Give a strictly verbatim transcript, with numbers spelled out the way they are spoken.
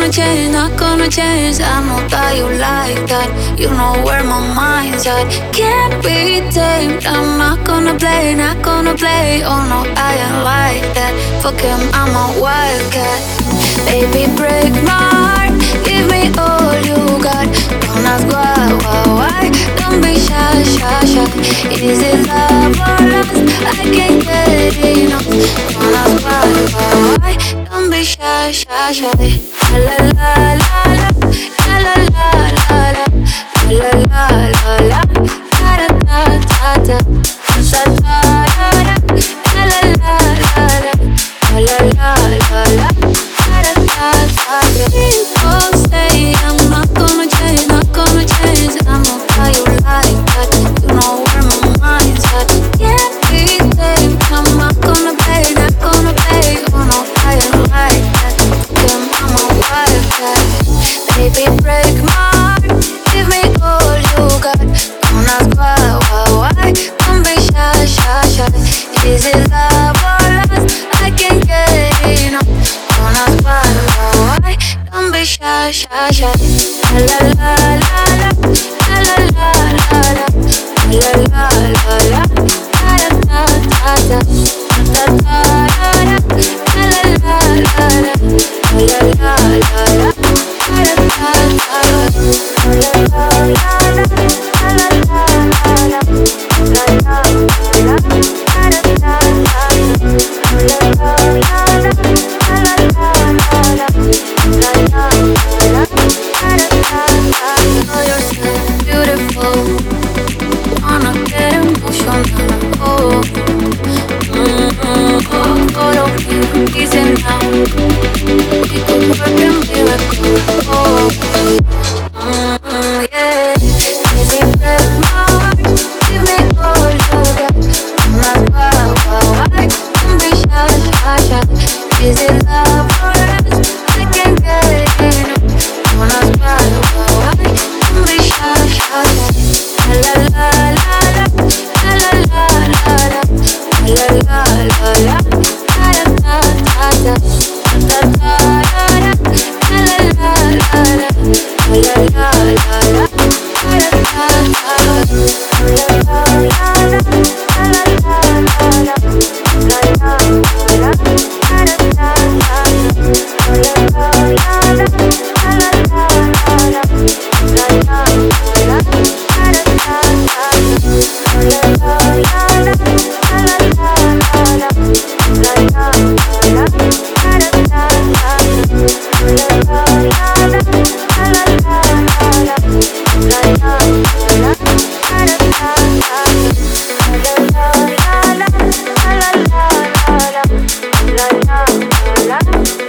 gonna change, not gonna change. I know that you like that. You know where my mind's at. Can't be tamed. I'm not gonna play, not gonna play. Oh no, I ain't like that. Fuck him, I'm a wildcat. Baby, break my heart. Give me all you got. Don't ask why, why, why. Don't be shy, shy, shy. Is it love or lust? I can't get enough. Don't ask why, why, why. Don't be shy, shy, shy. La la la la, la la la la la, la la la la, da da da da da, da da da da, la la la la la, la la la la, da da da da da. People say I'm not gonna change, not gonna change. I know how you like that. You know where my mind's at. Can't be tamed. I'm not gonna play, not gonna play. Oh no, I ain't like that. Damn, I'm a wildcat. Baby, break my heart. Give me all you got. Don't ask why, why, why. Don't be shy, shy, shy. Is it love or lust? I can't get enough. Don't ask why, why, why. Don't be shy, shy, shy. La la la la, la la la la la, la la la la, da da da da, da da da da, la la la la la, la la la la, da da da da, la la la la, la la la la, la la la la, da da da da, la la la la, la la la la, la la la la. Oh, you're so beautiful. Wanna get emotional. Oh, mm-hmm. Oh, follow me, easy now. We could work a miracle. Oh, mm-hmm, yeah. Baby, break my heart. Give me all you got. I'm not why, why, why. Don't be shy, shy, shy. Is it love or lust? I can't get enough. Don't ask why, why, why. Don't be shy, shy, shy. La la la la, la la la la la, la la la la, da da da da, da da da da, la la la la la, la la la la, da da da da, la la la la, la la la la, la la la, da da da da, la la la la, la la la la, la la la, da da da. La